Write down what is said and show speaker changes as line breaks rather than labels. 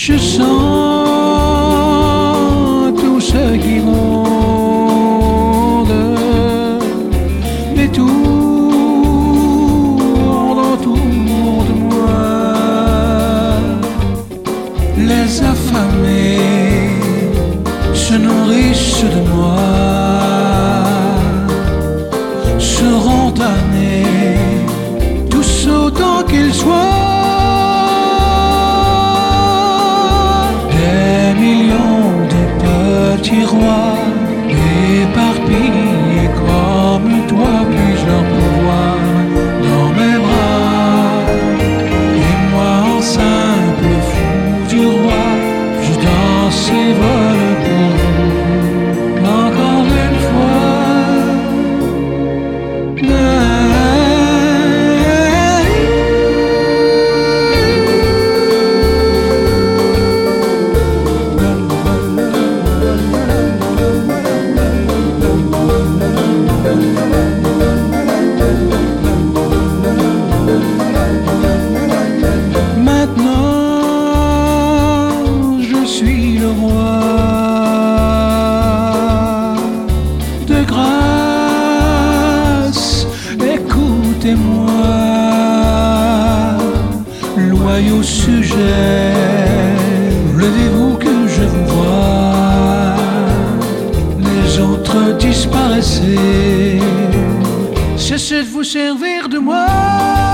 Je sens tout ce qui monte et tourne autour de moi. Les affamés se nourrissent de moi, seront damnés tous autant qu'ils soient. Petits rois éparpillés comme toi, plusieurs pouvoirs dans mes bras. Et moi en simple fou du roi, je danse et vole pour vous. Encore une fois. Écoutez-moi, loyaux sujets, levez-vous que je vous vois. Les autres disparaissez, cessez de vous servir de moi.